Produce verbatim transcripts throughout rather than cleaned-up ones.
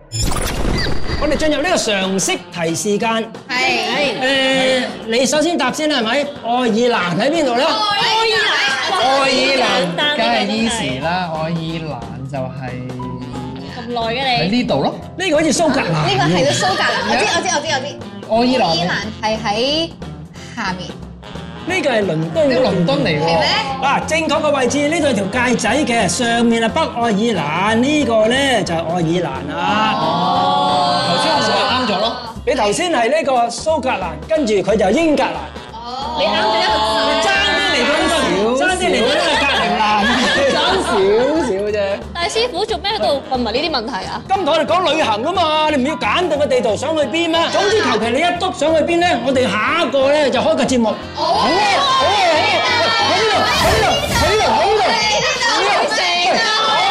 我哋進入呢個常識題時間。 係。 誒，你首先答先啦，係咪？愛爾蘭喺邊度咧？ 愛爾蘭。 愛爾蘭梗係 easy 啦，愛爾蘭就係咁耐嘅喺你。 呢度咯。 呢個好似蘇格蘭。 呢個係到蘇格蘭，我知我知我知我知。 愛爾蘭愛爾蘭係喺下面， 呢個係倫敦。 呢個倫敦嚟喎。 係咩？ 嗱，正確嘅位置呢度係條界仔嘅，上面係北愛爾蘭，呢個咧就係愛爾蘭啦。 哦，頭先我就話啱咗咯。 你頭先係呢個蘇格蘭，跟住佢就英格蘭。 你啱咗一個字。 爭啲嚟到呢個，爭啲嚟到呢個格陵蘭，爭少少啫。 但係師傅做咩喺度問埋呢啲問題啊？ 今堂我哋講旅行啊嘛，你唔要揀定個地圖想去邊咩？總之求其你一篤想去邊咧，我哋下一個咧就開個節目。好啊，好啊，好啊，喺呢度，喺呢度，喺呢度，喺呢度，喺呢度。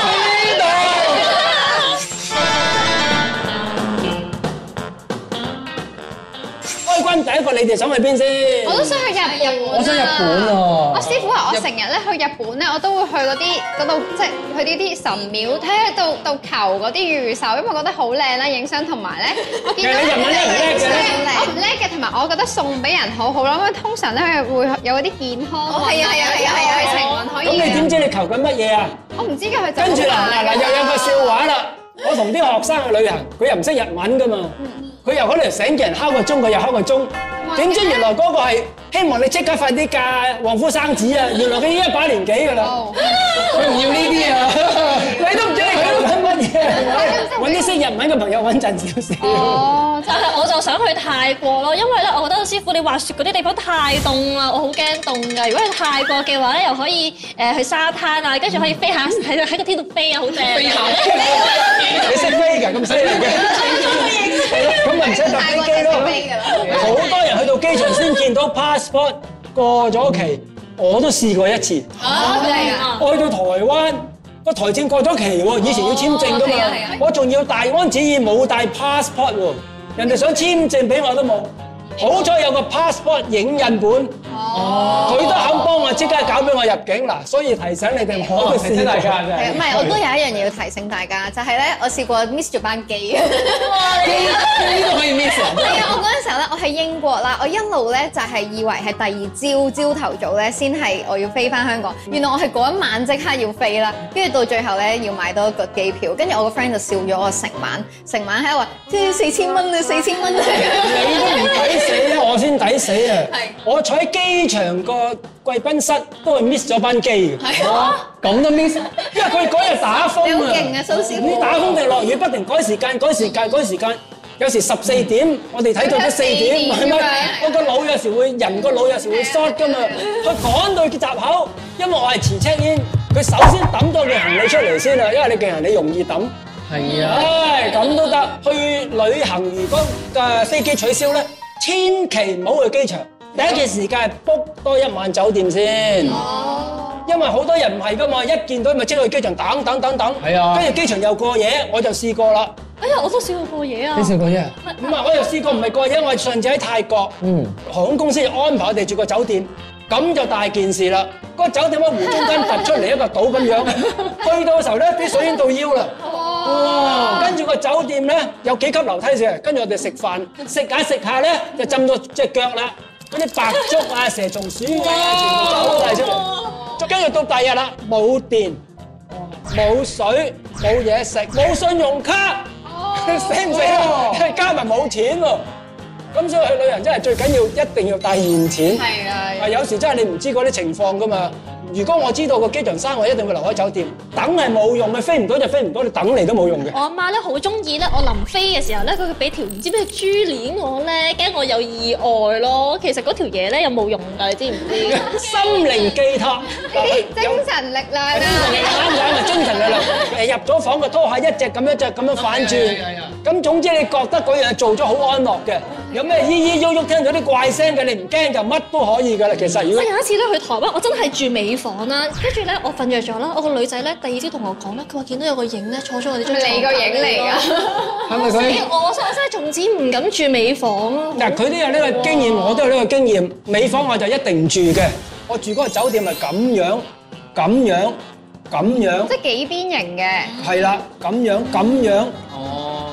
開軍第一個，你哋想去邊先？ 我都想去日本。 我想日本喎。 我師傅話我成日咧去日本咧，我都會去嗰啲嗰度，即係去呢啲神廟睇下到到求嗰啲御守，因為我覺得好靚啦，影相同埋咧，我見到其實你日文叻唔叻嘅咧？ 我唔叻嘅，同埋我覺得送俾人好好啦，因為通常咧佢會有嗰啲健康，係啊係啊係啊係啊，情運可以。 咁你點知你求緊乜嘢啊？ 我唔知嘅佢就跟住嗱嗱嗱，又有個笑話啦！我同啲學生去旅行，佢又唔識日文噶嘛，佢又可能醒叫人敲個鐘，佢又敲個鐘，點知原來嗰個係希望你即刻快啲嫁旺夫生子啊！原來佢已經一把年紀噶啦，佢唔要呢啲啊！你都唔知你求緊乜嘢，揾啲識日文嘅朋友穩陣少少。 哦， 但係我就想去泰國咯，因為咧，我覺得師傅你滑雪嗰啲地方太凍啦，我好驚凍㗎。如果去泰國嘅話咧，又可以誒去沙灘啊，跟住可以飛下喺喺個天度飛啊，好正。飛下， 你識飛㗎？咁犀利嘅？咁咪唔使搭飛機咯。好多人去到機場先見到 passport 過咗期，我都試過一次。 啊，真係啊！ 我去到台灣，個台證過咗期喎，以前要簽證㗎嘛，我仲要大安旨意冇帶 passport 喎，人哋想簽證俾我都冇，好彩有個 passport 影印本，佢都肯幫我即刻搞俾我入境嗱，所以提醒你哋我都試大家係唔係？我都有一樣嘢要提醒大家，就係咧，我試過 miss 咗班機。 呢個可以 miss 啊！ 係啊，我嗰陣時候咧，我喺英國啦，我一路咧就係以為係第二朝朝頭早咧先係我要飛翻香港，原來我係嗰一晚即刻要飛啦，跟住到最後咧要買多一個機票，跟住我個 friend 就笑咗我成晚，成晚喺度話，即係四千蚊啊，四千蚊啊！ 你都唔抵死，我先抵死啊！我坐喺機場個貴賓室都係 miss 咗班機嘅。 係啊， 咁都 miss， 因為佢嗰日打風啊！ 你好勁啊，蘇師傅！ 你打風定落雨，不停改時間、改時間、改時間。有時十四點，我哋睇到咗四點，係咪？我個腦有時會人個腦有時會 short 㗎嘛。佢趕到閘口，因為我係遲 check in，佢首先抌咗件行李出嚟先啊，因為你件行李容易抌。 係啊。 唉，咁都得。去旅行如果嘅飛機取消咧，千祈唔好去機場。第一件時間係 book 多一晚酒店先。哦。因為好多人唔係㗎嘛，一見到咪即去機場等等等等。 係啊。 跟住機場又過夜，我就試過啦。 哎呀，我都試過過夜啊！ 你試過啫？ 唔係，我又試過唔係過夜，我係上次喺泰國， 嗯， 航空公司安排我哋住個酒店，咁就大件事啦。嗰個酒店喺湖中間突出嚟一個島咁樣，去到嘅時候咧，啲水已經到腰啦。哇！跟住個酒店咧有幾級樓梯上，跟住我哋食飯，食下食下咧就浸到隻腳啦，嗰啲白竹啊、蛇蟲鼠啊，全部走晒出嚟。跟住到第二日啦，冇電、冇水、冇嘢食、冇信用卡。死唔死啊？加埋冇錢喎，咁所以去旅行真係最緊要一定要帶現錢。 係啊， 啊有時真係你唔知嗰啲情況噶嘛。如果我知道個機場閂，我一定會留喺酒店。等係冇用嘅，飛唔到就飛唔到，你等嚟都冇用嘅。 我阿媽咧好中意咧，我臨飛嘅時候咧，佢會俾條唔知咩珠鏈我咧，驚我有意外咯。其實嗰條嘢咧有冇用㗎？你知唔知？ 心靈寄託， 精神力量啊！ 啱唔啱啊？精神力量誒入咗房個拖鞋一隻咁一隻咁樣反轉，咁總之你覺得嗰樣嘢做咗好安樂嘅。有咩咿咿喐喐聽到啲怪聲嘅，你唔驚就乜都可以㗎啦。其實如果我有一次咧去台灣，我真係住尾房啦，跟住咧我瞓着咗啦，我個女仔咧第二朝同我講咧，佢話見到有個影咧坐咗我哋張床。 你個影嚟㗎？ 係咪佢？ 我我真係從此唔敢住尾房咯。 嗱，佢都有呢個經驗，我都有呢個經驗。尾房我就一定唔住嘅，我住嗰個酒店係咁樣、咁樣、咁樣， 即係幾邊形嘅。 係啦，咁樣、咁樣。 哦。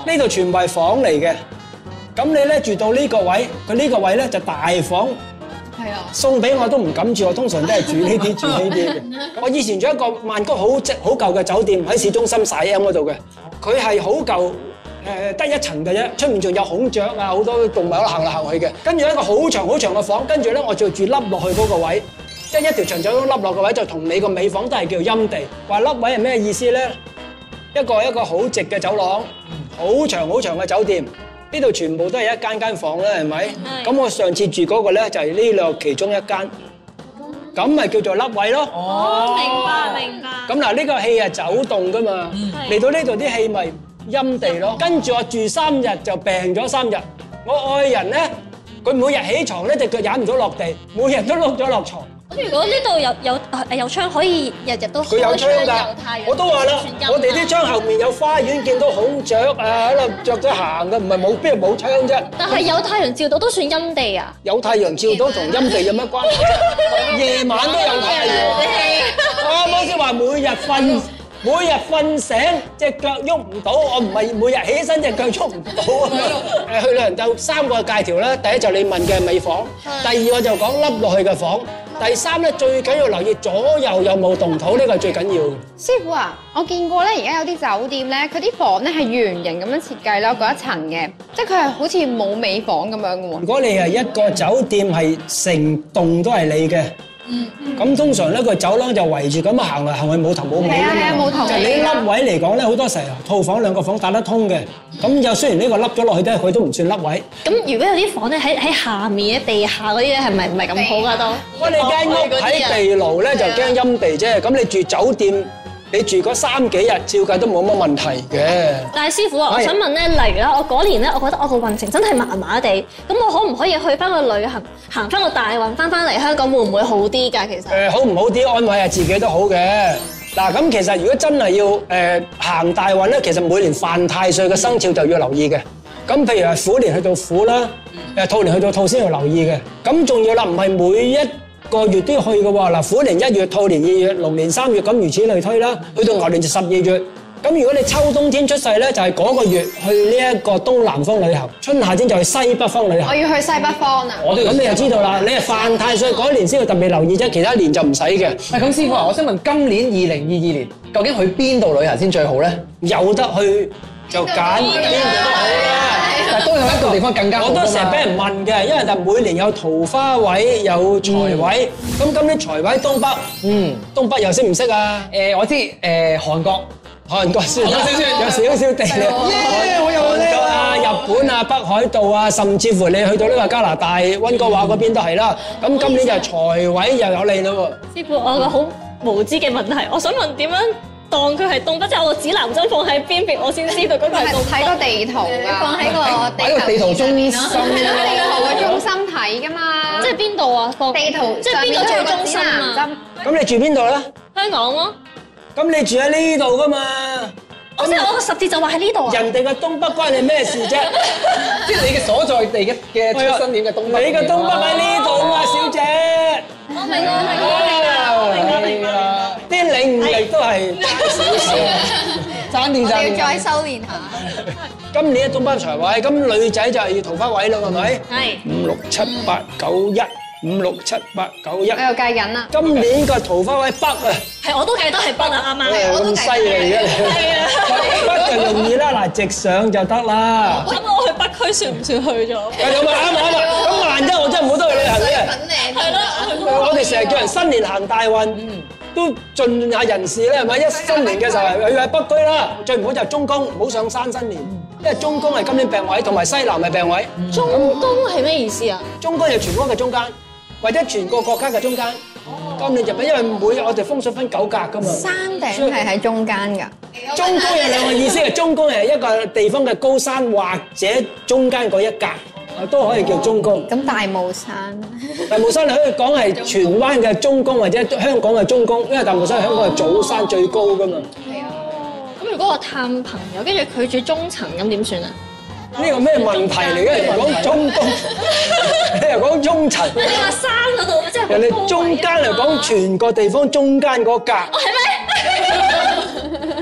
呢度全部係房嚟嘅。咁你咧住到呢個位，佢呢個位咧就大房。 係啊， 送俾我都唔敢住，我通常都係住呢啲住呢啲嘅。我以前住一個曼谷好即好舊嘅酒店喺市中心曬 M 嗰度嘅，佢係好舊誒，得一層嘅啫，出面仲有孔雀啊，好多動物喺度行嚟行去嘅。跟住一個好長好長嘅房，跟住咧我就住凹落去嗰個位，即係一條長長咁凹落個位，就同你個尾房都係叫陰地。話凹位係咩意思咧？一個一個好直嘅走廊，好長好長嘅酒店。呢度全部都係一間間房啦，係咪？咁我上次住嗰個咧就係呢兩其中一間，咁咪叫做凹位咯。 哦，明白明白。 咁嗱，呢個氣係走動噶嘛，嚟到呢度啲氣咪陰地咯。跟住我住三日就病咗三日。我愛人咧，佢每日起床咧隻腳踩唔到落地，每日都碌咗落床。 咁如果呢度有有誒有窗，可以日日都佢有窗㗎，我都話啦，我哋啲窗後面有花園，見到孔雀啊喺度着咗行嘅，唔係冇邊度冇窗啫。 但係有太陽照到都算陰地啊？ 有太陽照到同陰地有乜關係？夜晚都有太陽。我啱先話每日瞓，每日瞓醒隻腳喐唔到，我唔係每日起身隻腳喐唔到啊！誒，去旅行就三個戒條啦，第一就你問嘅尾房，第二我就講凹落去嘅房。第三咧，最緊要留意左右有冇動土，呢個係最緊要。 師傅啊，我見過咧，而家有啲酒店咧，佢啲房咧係圓形咁樣設計啦，嗰一層嘅，即係佢係好似冇尾房咁樣嘅喎。 如果你係一個酒店係成棟都係你嘅，咁通常咧個走廊就圍住咁行嚟行去冇頭冇尾㗎嘛。 係啊係啊，冇頭就係你凹位嚟講咧，好多時候套房兩個房打得通嘅，咁又雖然呢個凹咗落去咧，佢都唔算凹位。 咁如果有啲房咧喺喺下面嘅地下嗰啲咧，係咪唔係咁好噶都？ 我哋間屋喺地牢咧就驚陰地啫，咁你住酒店，你住嗰三幾日，照計都冇乜問題嘅。 但係師傅啊，我想問咧，例如啦，我嗰年咧，我覺得我個運程真係麻麻地，咁我可唔可以去翻個旅行，行翻個大運，翻翻嚟香港會唔會好啲㗎？其實誒，好唔好啲安慰下自己都好嘅。嗱，咁其實如果真係要誒行大運咧，其實每年犯太歲嘅生肖就要留意嘅。咁譬如係虎年去到虎啦，誒兔年去到兔先要留意嘅。咁仲要啦，唔係每一個月都要去嘅喎。嗱，虎年一月，兔年二月，龍年三月，咁如此類推啦。去到牛年就十二月。咁如果你秋冬天出世咧，就係嗰個月去呢一個東南方旅行；春夏天就去西北方旅行。 我要去西北方啊！ 咁你就知道啦，你係犯太歲嗰年先要特別留意啫，其他年就唔使嘅。 喂，咁師傅啊，我想問今年二零二二年究竟去邊度旅行先最好咧？ 有得去就揀邊度都好啦。 但係都有一個地方更加好㗎嘛。 我都成日俾人問嘅，因為就每年有桃花位，有財位。咁今年財位東北， 嗯， 東北又識唔識啊？ 誒，我知誒韓國。 韓國算啦，有少少地理。 耶！我有韓國啊、日本啊、北海道啊，甚至乎你去到呢個加拿大溫哥華嗰邊都係啦。咁今年就財位又有利咯喎。 師傅，我有個好無知嘅問題，我想問點樣當佢係東北，即係我個指南針放喺邊邊，我先知道嗰個係東北。 睇個地圖㗎， 放喺個喺個地圖中心。 係啦，地圖嘅中心睇㗎嘛。 即係邊度啊？放地圖即係邊個最中心啊？ 咁你住邊度咧？ 香港咯。 咁你住喺呢度噶嘛？ 我即係我個十字就話喺呢度啊！ 人哋嘅東北關你咩事啫？ 即係你嘅所在地嘅嘅出生點嘅東北。 你嘅東北喺呢度嘛，小姐。 我明啦，明啦，明啦，明啦。 啲領悟力都係少少，爭啲爭。 我要再修練下。 今年嘅東北財位，咁女仔就係要桃花位咯，係咪？ 係。 五六七八九一，五六七八九一。 我又計緊啦。 今年個桃花位北啊！ 係，我都記得係北啊，啱啱。 誒咁犀利嘅你。 係啊。 北就容易啦，嗱直上就得啦。 咁我去北區算唔算去咗？ 係咁啊，啱啊啱啊！咁萬一我真係冇得去旅行嘅。 係咯。 我哋成日叫人新年行大運，都盡下人事咧，係咪？一新年嘅時候去喺北區啦，最唔好就係中宮，唔好上山新年，因為中宮係今年病位，同埋西南係病位。 中宮係咩意思啊？ 中宮係全國嘅中間，或者全個國家嘅中間。今年就因為每我哋風水分九格噶嘛。 山頂係喺中間㗎。 中宮有兩個意思嘅，中宮係一個地方嘅高山或者中間嗰一格，都可以叫中宮。 咁大霧山， 大霧山你可以講係荃灣嘅中宮或者香港嘅中宮，因為大霧山係香港係祖山最高噶嘛。 係啊。咁如果我探朋友，跟住佢住中層，咁點算啊？ 呢個咩問題嚟嘅？人哋講中宮，你又講中層。 你話山嗰度即係人哋中間嚟講，全個地方中間嗰格。 哦，係咩？係，唔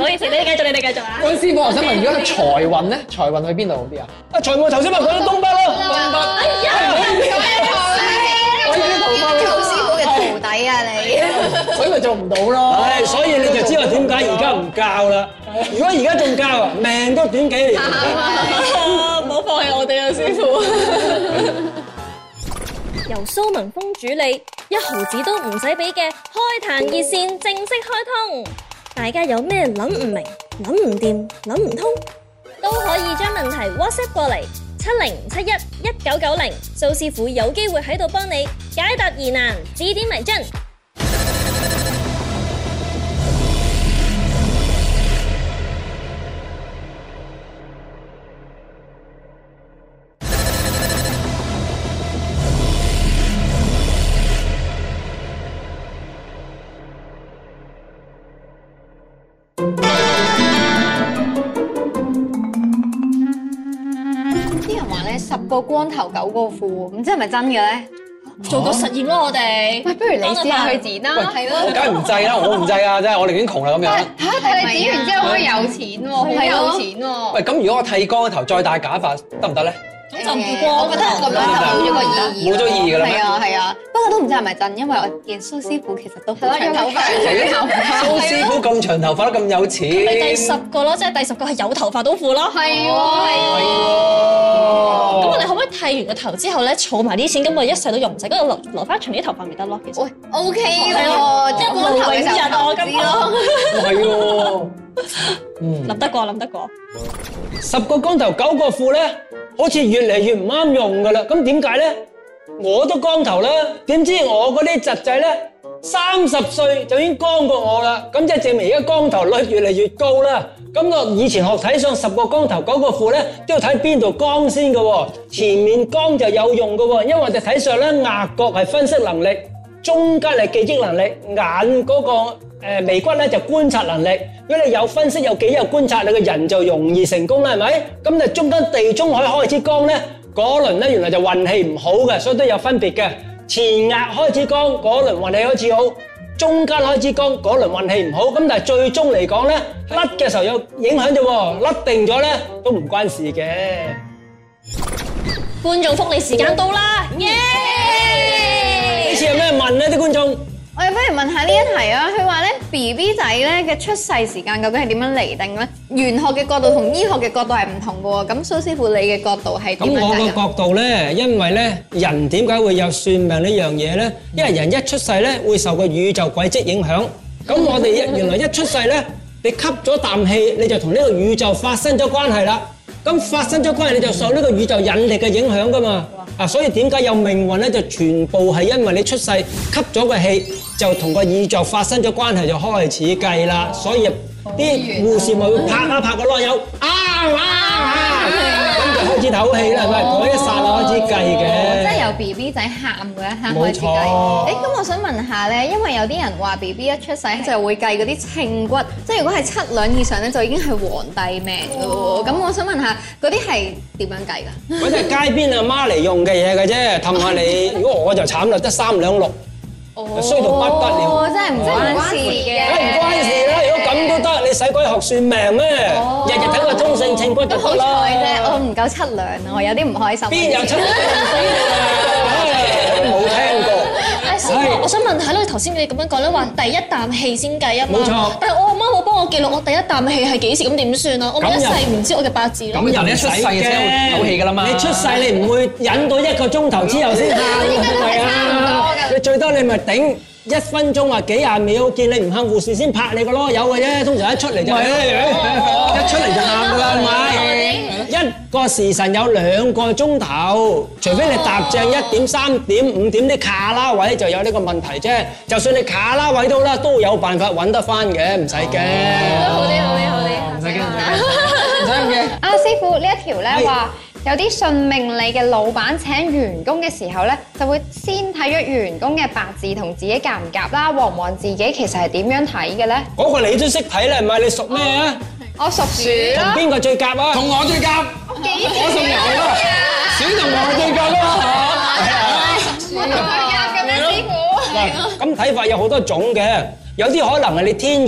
好意思，你哋繼續，你哋繼續啊。 嗰師傅，我想問，如果你財運咧，財運去邊度好啲啊？ 啊，財務頭先咪講咗東北咯，東北。 哎呀， 我已經頭髮做師傅嘅徒弟啊你！ 所以咪做唔到咯。 唉，所以你就知道點解而家唔教啦。如果而家仲教啊，命都短幾年。 唔好放棄我哋啊，師傅。由蘇文峰主理，一毫子都唔使俾嘅開壇熱線正式開通。大家有咩諗唔明、諗唔掂、諗唔通，都可以將問題 WhatsApp 過嚟七零七一一九九零，蘇師傅有機會喺度幫你解答疑難、指點迷津。 十個光頭九個富，唔知係咪真嘅咧？ 做個實驗咯，我哋。 喂，不如你試下去剪啦，係我梗係唔制啦，我唔制啊，真係我寧願窮啦咁樣。 嚇！但係你剪完之後可以有錢喎，好有錢喎。 喂，咁如果我剃光個頭再戴假髮得唔得咧？ 咁就唔光。 我覺得咁樣就冇咗個意義。 冇咗意義㗎啦。 係啊係啊，不過都唔知係咪真，因為我見蘇師傅其實都好長頭髮。 蘇師傅咁長頭髮都咁有錢。 咪第十個咯，即係第十個係有頭髮都富咯。 係喎， 係咁喎。 我哋可唔可以剃完個頭之後咧，儲埋啲錢，咁我一世都用唔晒，跟住留留翻長啲頭髮咪得咯？其實。 喂，O K 係喎， 咯， 即係光頭嘅時候我投資咯。 係喎。嗯。 諗得過，諗得過。 十個光頭九個富咧，好似越嚟越唔啱用噶啦。咁點解咧？我都光頭啦，點知我嗰啲侄仔咧，三十歲就已經光過我啦。咁即係證明而家光頭率越嚟越高啦。咁我以前學睇上十個光頭九個富咧，都要睇邊度光先嘅喎。前面光就有用嘅喎，因為我哋睇上咧額角係分析能力，中間係記憶能力，眼嗰個誒眉骨咧就觀察能力。如果你有分析有記憶有觀察，你個人就容易成功啦，係咪？咁就中間地中海開始光咧，嗰輪咧原來就運氣唔好嘅，所以都有分別嘅。前額開始光，嗰輪運氣開始好；中間開始光，嗰輪運氣唔好。咁但係最終嚟講咧，甩嘅時候有影響啫喎，甩定咗咧都唔關事嘅。 觀眾福利時間到啦，耶！ 呢次有咩問咧啲觀眾？ 我哋不如問下呢一題啊，佢話咧 B B 仔咧嘅出世時間究竟係點樣釐定咧？玄學嘅角度同醫學嘅角度係唔同嘅喎。咁蘇師傅你嘅角度係點樣睇啊？ 咁我個角度咧，因為咧人點解會有算命呢樣嘢咧？因為人一出世咧會受個宇宙軌跡影響。咁我哋一原來一出世咧，你吸咗啖氣，你就同呢個宇宙發生咗關係啦。咁發生咗關係，你就受呢個宇宙引力嘅影響噶嘛。啊，所以點解有命運咧？就全部係因為你出世吸咗個氣，就同個宇宙發生咗關係，就開始計啦。所以啲護士咪會拍下拍個囉柚，啊啊啊，咁就開始唞氣啦，係咪？嗰一剎那開始計嘅。 即係由 B B 仔喊嗰一刻開始計。 冇錯。 誒，咁我想問下咧，因為有啲人話 B B 一出世就會計嗰啲稱骨，即係如果係七兩以上咧，就已經係皇帝命㗎喎。咁我想問下，嗰啲係點樣計㗎？ 嗰啲係街邊阿媽嚟用嘅嘢嘅啫，氹下你。如果我就慘啦，得三兩六，衰到不得了。 哦，真係唔關事嘅。 梗係唔關事啦！如果咁都得，你使鬼學算命咩？日日睇個中性稱骨就好得啦。 彩啫，我唔夠七兩啊，我有啲唔開心。 邊有七兩冇聽過。 師傅，我想問下咧，頭先你咁樣講咧，話第一啖氣先計啊嘛。 冇錯。 但係我阿媽冇幫我記錄我第一啖氣係幾時，咁點算啊？我咪一世唔知我嘅八字咯。 咁人一出世嘅時候唞氣㗎啦嘛。 你出世你唔會忍到一個鐘頭之後先喊㗎，係啊。你最多你咪頂一分鐘或幾廿秒，見你唔喊，護士先拍你個囉柚嘅啫。通常一出嚟就係一出嚟就喊㗎啦，係咪？一個時辰有兩個鐘頭，除非你踏正一點、三點、五點啲卡拉位就有呢個問題啫。就算你卡拉位到啦，都有辦法揾得翻嘅，唔使驚。 好啲，好啲，好啲， 唔使驚，唔使驚。 啊，師傅呢一條咧話，有啲信命理嘅老闆請員工嘅時候咧，就會先睇咗員工嘅八字同自己夾唔夾啦，旺唔旺自己其實係點樣睇嘅咧？ 嗰個你都識睇啦，係咪？你屬咩啊？ 我屬鼠啦。 邊個最夾啊？ 同我最夾，我屬牛啦，鼠同我最夾啦嚇。 我同佢夾嘅咩師傅？ 嗱，咁睇法有好多種嘅，有啲可能係你天月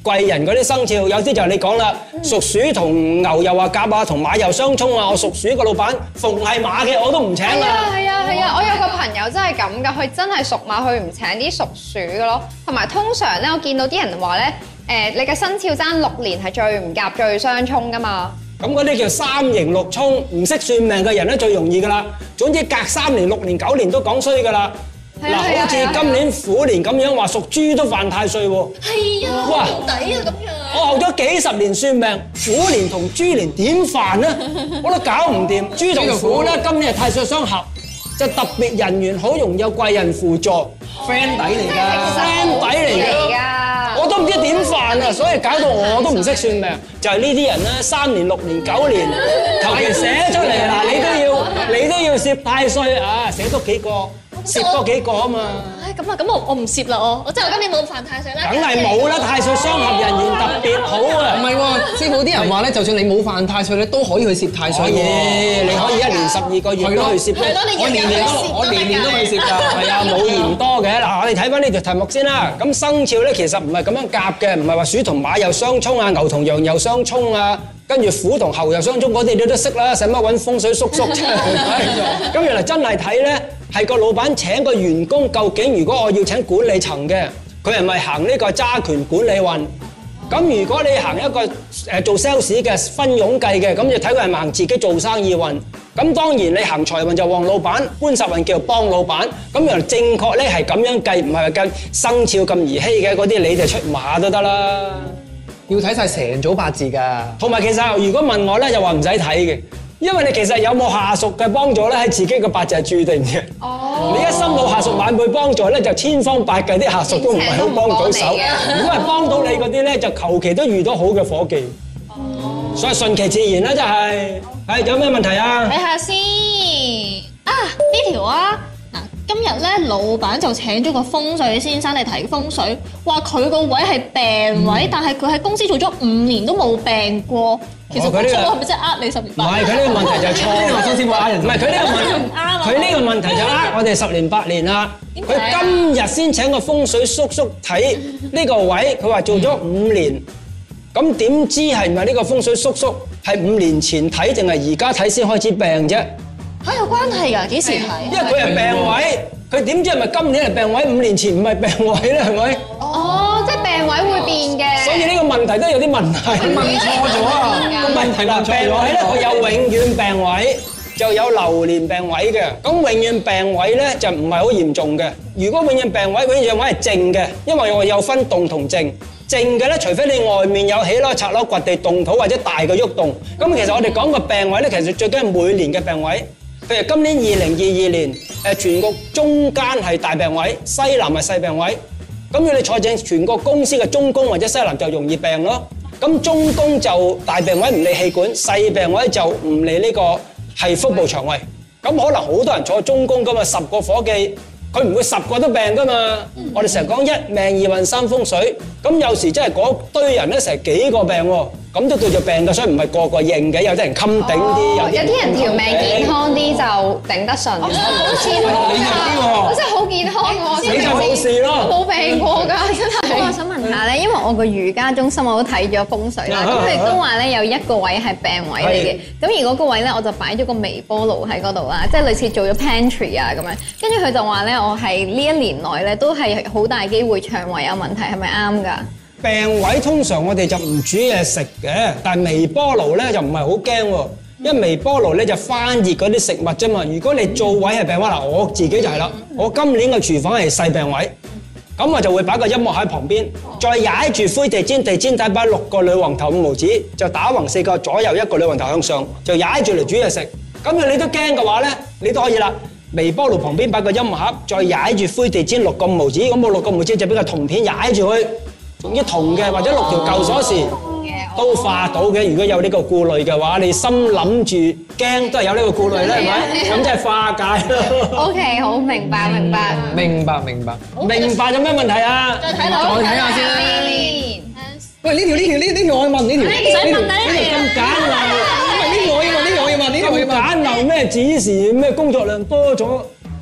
貴人嗰啲生肖，有啲就係你講啦，屬鼠同牛又話夾啊，同馬又相沖啊。我屬鼠個老闆，逢係馬嘅我都唔請係啦。 啊係啊係啊！我有個朋友真係咁噶，佢真係屬馬，佢唔請啲屬鼠嘅咯。同埋通常咧，我見到啲人話咧，誒你嘅生肖爭六年係最唔夾、最相沖噶嘛。 咁嗰啲叫三刑六沖，唔識算命嘅人咧最容易噶啦。總之隔三年、六年、九年都講衰噶啦。嗱，好似今年虎年咁樣話屬豬都犯太歲喎。 係啊， 哇好抵啊咁樣。 我學咗幾十年算命，虎年同豬年點犯呢？我都搞唔掂。豬同虎咧，今年係太歲相合，就特別人緣好，容易有貴人輔助 friend 底嚟㗎 ，friend 底嚟嚟㗎。 㗎。 我都唔知點犯啊，所以搞到我都唔識算命。就係呢啲人咧，三年、六年、九年，求其寫出嚟嗱，你都要，你都要攝太歲啊，寫多幾個，攝多幾個啊嘛。 唉，咁啊，咁我我唔攝啦，我我即係我今年冇犯太歲啦。 梗係冇啦，太歲相合人緣特別好啊。 唔係喎，師傅啲人話咧，就算你冇犯太歲咧，都可以去攝太歲可以， 喎。 你可以一年十二個月都去攝。 係咯，你我年年都我年年都去攝㗎。 係啊，冇嫌多嘅。嗱，我哋睇翻呢條題目先啦。咁生肖咧其實唔係咁樣夾嘅，唔係話鼠同馬又相沖啊，牛同羊又相沖啊，跟住虎同猴又相沖，嗰啲你都識啦，使乜揾風水叔叔啫？咁原來真係睇咧，係個老闆請個員工，究竟如果我要請管理層嘅，佢係咪行呢個揸權管理運？咁如果你行一個誒做 sales 嘅分傭計嘅，咁就睇佢係咪行自己做生意運。咁當然你行財運就旺老闆，官煞運叫做幫老闆。咁原來正確咧係咁樣計，唔係話計生肖咁兒戲嘅嗰啲，你哋出馬都得啦。 要睇晒成組八字㗎。 同埋其實如果問我咧，就話唔使睇嘅，因為你其實有冇下屬嘅幫助咧，喺自己嘅八字係注定嘅。哦。你一心冇下屬晚輩幫助咧，就千方百計啲下屬都唔係好幫到手。如果係幫到你嗰啲咧，就求其都遇到好嘅夥計。哦。所以順其自然啦，真係。係有咩問題啊？ 睇下先啊，呢條啊嗱，今日咧老闆就請咗個風水先生嚟睇風水，話佢個位係病位，但係佢喺公司做咗五年都冇病過。其實風水係咪真係呃你十年唔八年？ 係，佢呢個問題就係錯。 話新師傅呃人， 唔係佢呢個問題唔啱啊！ 佢呢個問題就呃我哋十年八年啦。佢今日先請個風水叔叔睇呢個位，佢話做咗五年。咁點知係唔係呢個風水叔叔係五年前睇定係而家睇先開始病啫？ 嚇有關係㗎？幾時睇？ 因為佢係病位，佢點知係咪今年係病位？五年前唔係病位咧，係咪？ 哦，即係病位會變嘅。 所以呢個問題都有啲問題。 問錯咗啊！ 個問題啦，病位咧佢有永遠病位，就有流年病位嘅。咁永遠病位咧就唔係好嚴重嘅。如果永遠病位，永遠病位係靜嘅，因為我有分動同靜。靜嘅咧，除非你外面有起樓、拆樓、掘地、動土或者大嘅喐動。咁其實我哋講個病位咧，其實最緊係每年嘅病位。譬如今年二零二二年，誒全國中間係大病位，西南係細病位。咁如果你坐正全國公司嘅中宮或者西南就容易病咯。咁中宮就大病位唔理氣管，細病位就唔理呢個係腹部腸胃。咁可能好多人坐中宮噶嘛，十個夥計。佢唔會十個都病噶嘛，我哋成日講一命二運三風水，咁有時真係嗰堆人咧成幾個病喎，咁都叫做病嘅，所以唔係個個認嘅，有啲人襟頂啲， 有啲人條命健康啲就頂得順。好健康㗎，我真係好健康喎， 你就冇事咯， 冇病過㗎，真係。 我想問下咧，因為我個瑜伽中心我都睇咗風水啦，咁佢哋都話咧有一個位係病位嚟嘅，咁而嗰個位咧我就擺咗個微波爐喺嗰度啦，即係類似做咗 pantry 啊咁樣，跟住佢就話咧我係呢一年內咧都係好大機會腸胃有問題，係咪啱㗎？ 病位通常我哋就唔煮嘢食嘅，但係微波爐咧就唔係好驚喎，因為微波爐咧就翻熱嗰啲食物啫嘛。如果你做位係病位嗱，我自己就係啦，我今年嘅廚房係細病位，咁我就會擺個音樂喺旁邊，再踩住灰地氈，地氈底擺六個女王頭五毫子，就打橫四個，左右一個女王頭向上，就踩住嚟煮嘢食。咁你都驚嘅話咧，你都可以啦。微波爐旁邊擺個音樂盒，再踩住灰地氈六個五毫子，咁我六個五毫子就俾個銅片踩住佢。用啲銅嘅或者六條舊鎖匙都化到嘅。如果有呢個顧慮嘅話，你心諗住驚都係有呢個顧慮咧，係咪？咁即係化解咯。 OK， 好明白明白。 明白明白。 明白有咩問題啊？ 再睇樓， 再睇下先啦。喂，呢條呢條呢呢條我要問呢條。 唔使問啦，呢條咁簡陋， 唔係呢條我要問，呢條我要問，呢條我要問。 咁簡陋咩指示咩工作量多咗？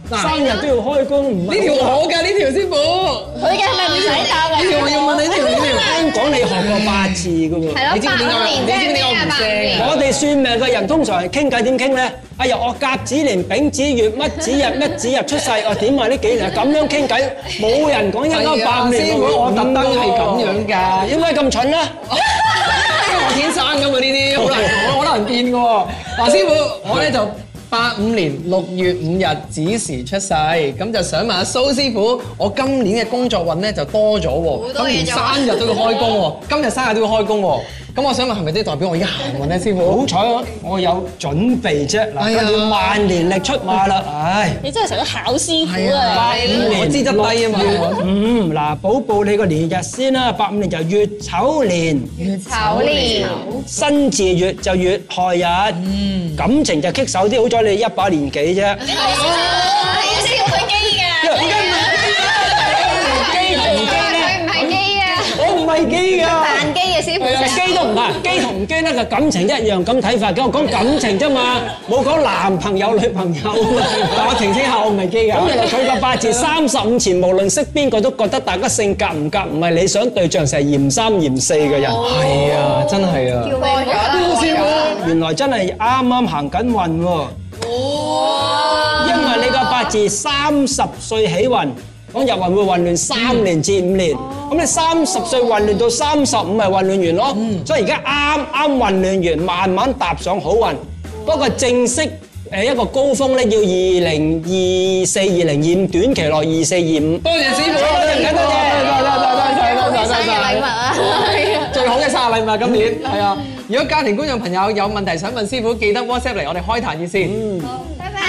生日都要開工，唔係呢條我㗎，呢條師傅。 佢嘅係咪唔使答啊？ 呢條我要問你呢條呢條。 聽講你學過八字㗎喎。 係咯， 你知唔知點解八五年你知唔知點解我唔八五聲年啊？ 我哋算命嘅人通常係傾偈點傾咧？哎呀，我甲子年丙子月乜子日乜子日出世，我點啊呢幾年咁樣傾偈，冇人講一九八五年。 師傅，我特登係咁樣㗎。 點解咁蠢咧？ 因為我天生㗎嘛，呢啲好難好難變㗎喎。嗱，師傅，我咧就八五年六月五日子時出世，咁就想問下蘇師傅，我今年嘅工作運咧就多咗喎，咁連生日都要開工喎，今日生日都要開工喎，咁我想問係咪即係代表我而家行運咧，師傅？ 好彩我我有準備啫，嗱， 哎呀跟住萬年曆出馬啦，唉。 你真係成個考師傅係啊！ 啊，我資質低啊嘛。 嗯，嗱，補報你個年日先啦，八五年就月丑年， 丑年辛字月就月害日，感情就棘手啲，好彩你一把年紀啫。 係啊，師傅佢機㗎。 點解唔係機同唔機咧？ 佢唔係基啊！ 我唔係機㗎。 扮機嘅師傅啫。 機都唔係，機同唔機咧個感情一樣咁睇法嘅，我講感情啫嘛，冇講男朋友女朋友。 但我澄清下，我唔係基㗎。 咁原來佢個八字三十五前，無論識邊個都覺得大家性格唔夾，唔係理想對象，成係嫌三嫌四嘅人。 係啊，真係啊。 過咗啦， 師傅，原來真係啱啱行緊運喎。因為你個八字三十歲起運，講入運會混亂三年至五年。咁你三十歲混亂到三十五咪混亂完咯。所以而家啱啱混亂完，慢慢踏上好運。不過正式誒一個高峰咧，要二零二四、二零二五短期內二四二五。 多謝師傅， 多謝多謝多謝多謝多謝多謝。 生日禮物啊！ 最好嘅生日禮物今年係啊！如果家庭觀眾朋友有問題想問師傅，記得 WhatsApp 嚟我哋開壇熱線。 拜拜。